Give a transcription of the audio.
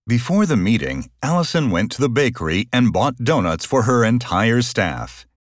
Before the meeting, Allison went to the bakery and bought donuts for her entire staff.